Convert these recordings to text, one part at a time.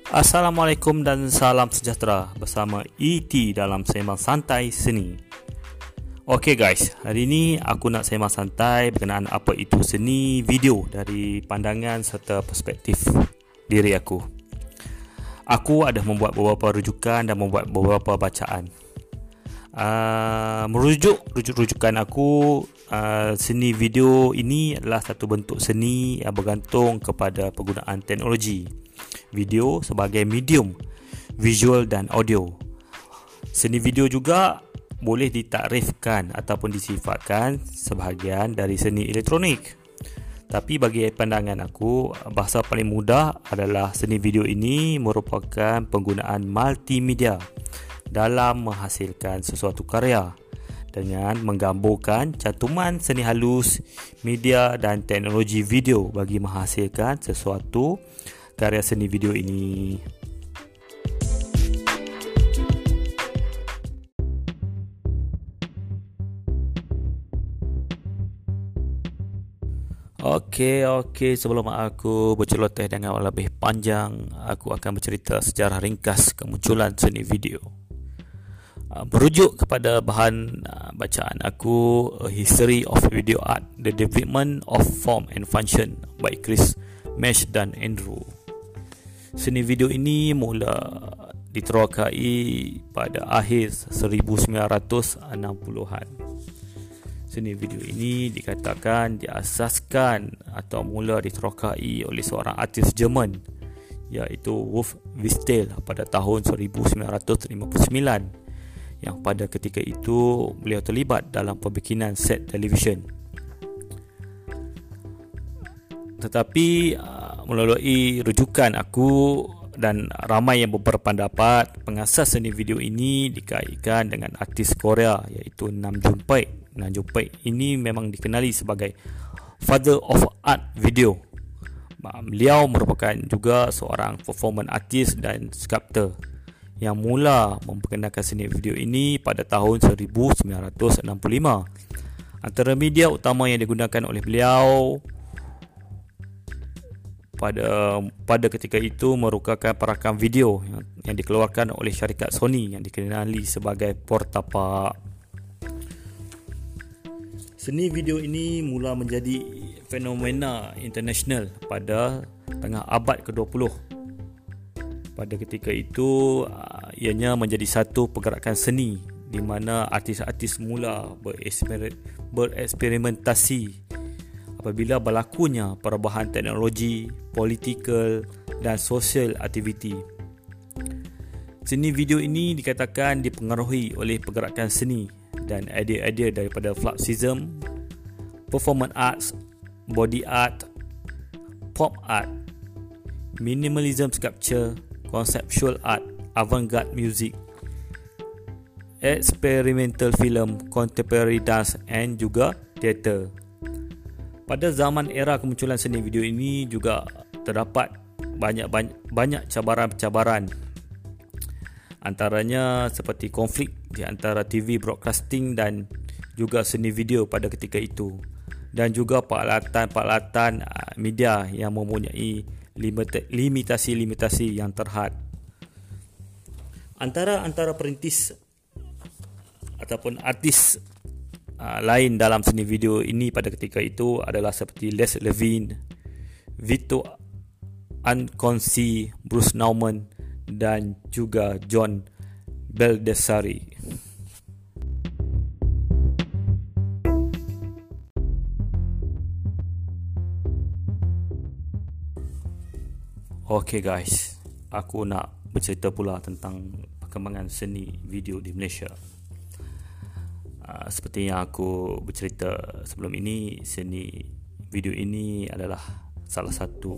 Assalamualaikum dan salam sejahtera bersama ET dalam Sembang Santai Seni. Okey guys, hari ini aku nak sembang santai berkenaan apa itu seni video dari pandangan serta perspektif diri aku. Aku ada membuat beberapa rujukan dan membuat beberapa bacaan. Rujukan aku, seni video ini adalah satu bentuk seni yang bergantung kepada penggunaan teknologi video sebagai medium visual dan audio. Seni video juga boleh ditakrifkan ataupun disifatkan sebahagian dari seni elektronik. Tapi bagi pandangan aku, bahasa paling mudah adalah seni video ini merupakan penggunaan multimedia dalam menghasilkan sesuatu karya dengan menggambarkan cantuman seni halus, media dan teknologi video bagi menghasilkan sesuatu karya seni video ini. Okey, sebelum aku berceloteh dengan lebih panjang, aku akan bercerita sejarah ringkas kemunculan seni video. Merujuk kepada bahan bacaan aku, A History of Video Art, The Development of Form and Function by Chris Mesh dan Andrew. Seni video ini mula diterokai pada akhir 1960-an. Seni video ini dikatakan diasaskan atau mula diterokai oleh seorang artis Jerman iaitu Wolf Witzel pada tahun 1959, yang pada ketika itu beliau terlibat dalam pembikinan set televisyen. Tetapi melalui rujukan aku dan ramai yang berpendapat, pengasas seni video ini dikaitkan dengan artis Korea iaitu Nam June Paik. Nam June Paik ini memang dikenali sebagai Father of Art Video. Beliau merupakan juga seorang performance artist dan sculptor yang mula memperkenalkan seni video ini pada tahun 1965. Antara media utama yang digunakan oleh beliau pada ketika itu merupakan perakam video yang dikeluarkan oleh syarikat Sony yang dikenali sebagai Portapak. Seni video ini mula menjadi fenomena international pada tengah abad ke-20. Pada ketika itu ianya menjadi satu pergerakan seni di mana artis-artis mula bereksperimentasi apabila berlakunya perubahan teknologi, politikal dan sosial aktiviti. Seni video ini dikatakan dipengaruhi oleh pergerakan seni dan idea-idea daripada Fluxism, performance arts, body art, pop art, minimalism sculpture, conceptual art, avant-garde music, experimental film, contemporary dance and juga theater. Pada zaman era kemunculan seni video ini juga terdapat banyak cabaran-cabaran. Antaranya seperti konflik di antara TV broadcasting dan juga seni video pada ketika itu, dan juga peralatan media yang mempunyai limitasi-limitasi yang terhad. Antara perintis ataupun artis lain dalam seni video ini pada ketika itu adalah seperti Les Levine, Vito Anconsi, Bruce Nauman dan juga John Baldessari. Okey guys, aku nak bercerita pula tentang perkembangan seni video di Malaysia. Seperti yang aku bercerita sebelum ini, seni video ini adalah salah satu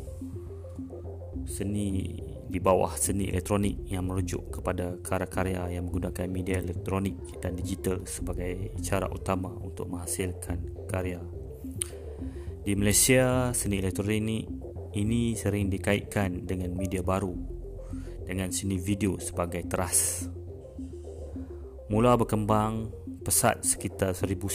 seni di bawah seni elektronik yang merujuk kepada karya-karya yang menggunakan media elektronik dan digital sebagai cara utama untuk menghasilkan karya. Di Malaysia, seni elektronik ini sering dikaitkan dengan media baru, dengan seni video sebagai teras. Mula berkembang pesat sekitar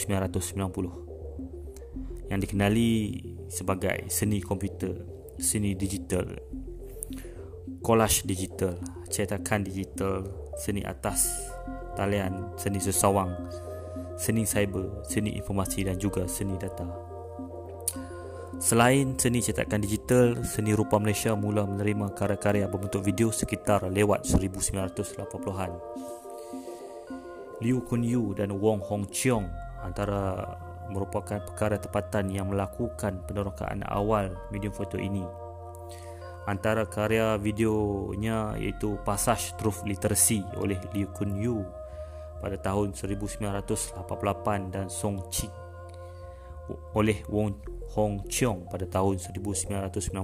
1990 yang dikenali sebagai seni komputer, seni digital. collage digital, cetakan digital, seni atas talian, seni sesawang, seni cyber, seni informasi dan juga seni data. Selain seni cetakan digital, seni rupa Malaysia mula menerima karya-karya berbentuk video sekitar lewat 1980-an. Liu Kun Yu dan Wong Hong Cheong antara merupakan perkara tempatan yang melakukan penerokaan awal medium foto ini. Antara karya videonya iaitu Passage Truth Literacy oleh Liu Kun Yu pada tahun 1988 dan Song Chi oleh Wong Hong Cheong pada tahun 1990.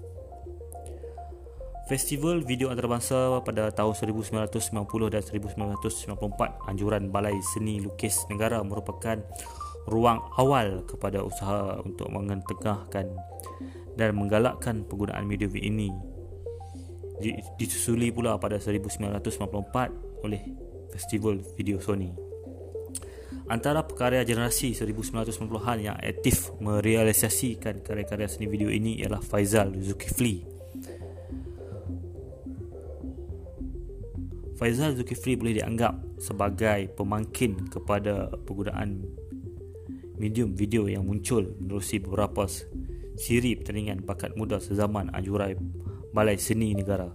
Festival Video Antarabangsa pada tahun 1990 dan 1994 anjuran Balai Seni Lukis Negara merupakan ruang awal kepada usaha untuk mengetengahkan dan menggalakkan penggunaan medium ini. Disusuli pula pada 1994 oleh Festival Video Sony. Antara pekarya generasi 1990-an yang aktif merealisasikan karya-karya seni video ini ialah Faizal Zulkifli. Faizal Zulkifli boleh dianggap sebagai pemangkin kepada penggunaan medium video yang muncul menerusi beberapa siri pertandingan bakat muda sezaman anjuran Balai Seni Negara.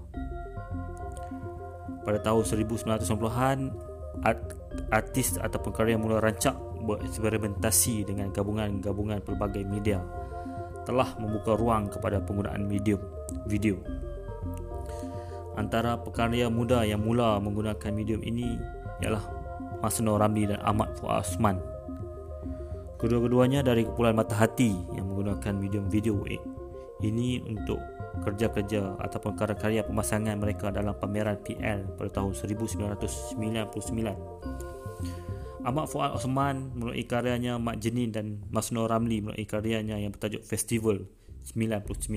Pada tahun 1990-an, artis ataupun karya mula rancak bereksperimentasi dengan gabungan-gabungan pelbagai media telah membuka ruang kepada penggunaan medium video. Antara pekarya muda yang mula menggunakan medium ini ialah Masno Ramli dan Ahmad Fuad Osman. Kedua-keduanya dari kumpulan Mata Hati yang menggunakan medium video ini untuk kerja-kerja ataupun karya-karya pemasangan mereka dalam pameran PL pada tahun 1999. Ahmad Fuad Osman melalui karyanya Mak Jenin dan Masno Ramli melalui karyanya yang bertajuk Festival 99.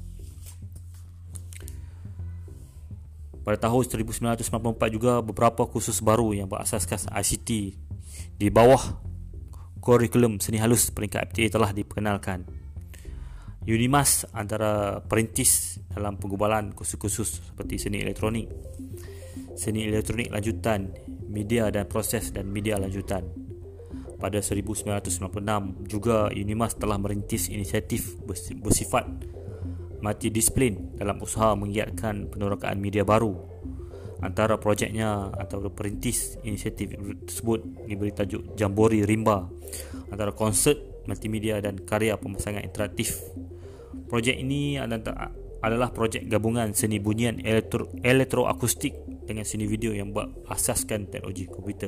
Pada tahun 1994 juga beberapa kursus baru yang berasaskan ICT di bawah kurikulum seni halus peringkat FTA telah diperkenalkan. Unimas antara perintis dalam penggubalan kursus-kursus seperti seni elektronik lanjutan, media dan proses dan media lanjutan. Pada 1996 juga Unimas telah merintis inisiatif bersifat multidisiplin dalam usaha menggiatkan penerokaan media baru. Antara projeknya atau perintis inisiatif tersebut diberi tajuk Jambori Rimba, antara konsert, multimedia dan karya pemasangan interaktif. Projek ini adalah projek gabungan seni bunyian elektroakustik dengan seni video yang berasaskan teknologi komputer.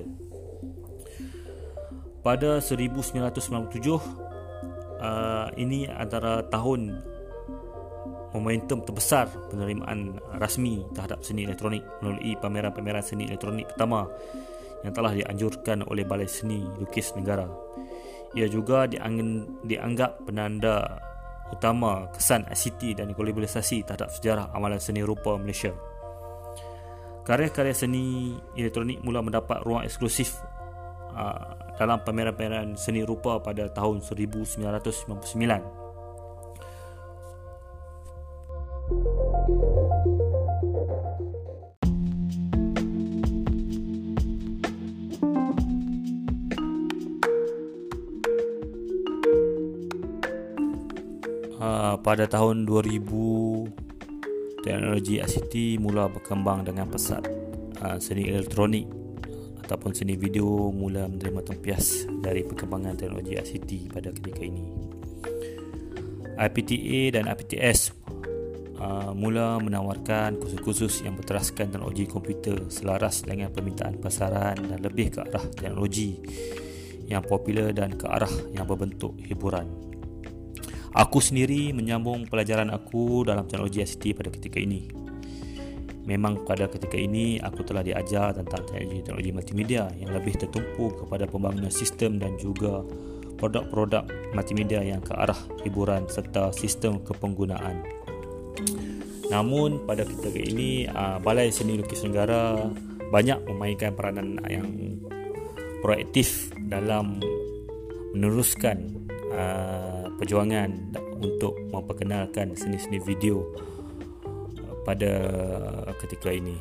Pada 1997, ini antara tahun momentum terbesar penerimaan rasmi terhadap seni elektronik melalui pameran-pameran seni elektronik pertama yang telah dianjurkan oleh Balai Seni Lukis Negara. Ia juga dianggap penanda utama kesan ICT dan globalisasi terhadap sejarah amalan seni rupa Malaysia. Karya-karya seni elektronik mula mendapat ruang eksklusif dalam pameran-pameran seni rupa pada tahun 1999. Pada tahun 2000, teknologi ICT mula berkembang dengan pesat. Seni elektronik ataupun seni video mula menerima tempias dari perkembangan teknologi ICT pada ketika ini. IPTA dan IPTS mula menawarkan kursus-kursus yang berteraskan teknologi komputer selaras dengan permintaan pasaran dan lebih ke arah teknologi yang popular dan ke arah yang berbentuk hiburan. Aku sendiri menyambung pelajaran aku dalam teknologi ICT pada ketika ini. Memang pada ketika ini aku telah diajar tentang teknologi multimedia yang lebih tertumpu kepada pembangunan sistem dan juga produk-produk multimedia yang ke arah hiburan serta sistem kepenggunaan. Namun pada ketika ini Balai Seni Lukis Negara banyak memainkan peranan yang proaktif dalam meneruskan perjuangan untuk memperkenalkan seni-seni video pada ketika ini.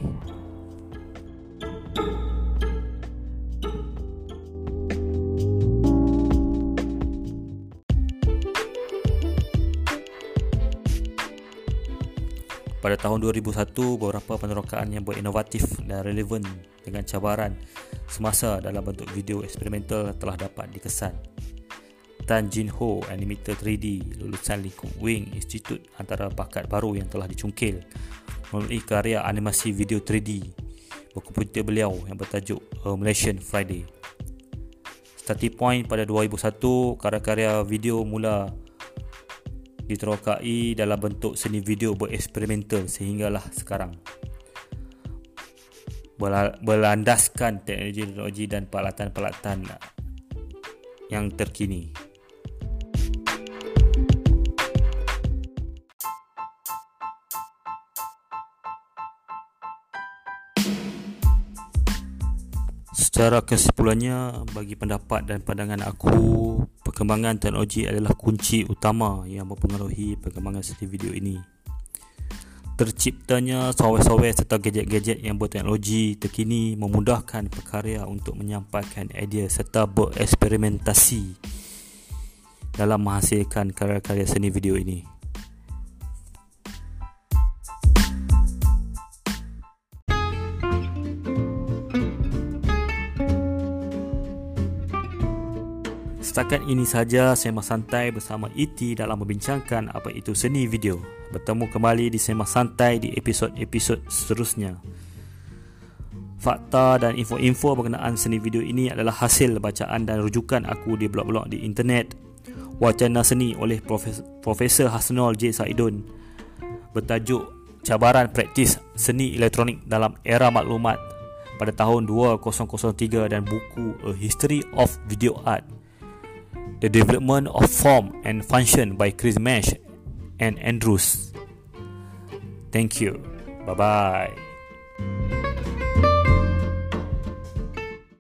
Pada tahun 2001, beberapa penerokaan yang berinovatif dan relevan dengan cabaran semasa dalam bentuk video eksperimental telah dapat dikesan. Tan Jin Ho, animator 3D lulusan lingkup Wing Institute, antara bakat baru yang telah dicungkil melalui karya animasi video 3D berkomputer beliau yang bertajuk A Malaysian Friday. Starting point pada 2001, karya-karya video mula diterokai dalam bentuk seni video bereksperimental sehinggalah sekarang, berlandaskan teknologi dan peralatan-peralatan yang terkini. Secara kesimpulannya, bagi pendapat dan pandangan aku, perkembangan teknologi adalah kunci utama yang mempengaruhi perkembangan seni video ini. Terciptanya software-software serta gadget-gadget yang berteknologi terkini memudahkan pekarya untuk menyampaikan idea serta bereksperimentasi dalam menghasilkan karya-karya seni video ini. Setakat ini saja Sembang Santai bersama ET dalam membincangkan apa itu seni video. Bertemu kembali di Sembang Santai di episod-episod seterusnya. Fakta dan info-info berkenaan seni video ini adalah hasil bacaan dan rujukan aku di blog-blog di internet. Wacana Seni oleh Profesor Hasnul J. Saidun bertajuk Cabaran Praktis Seni Elektronik dalam Era Maklumat pada tahun 2003 dan buku A History of Video Art, The Development of Form and Function by Chris Mesh and Andrews. Thank you. Bye-bye.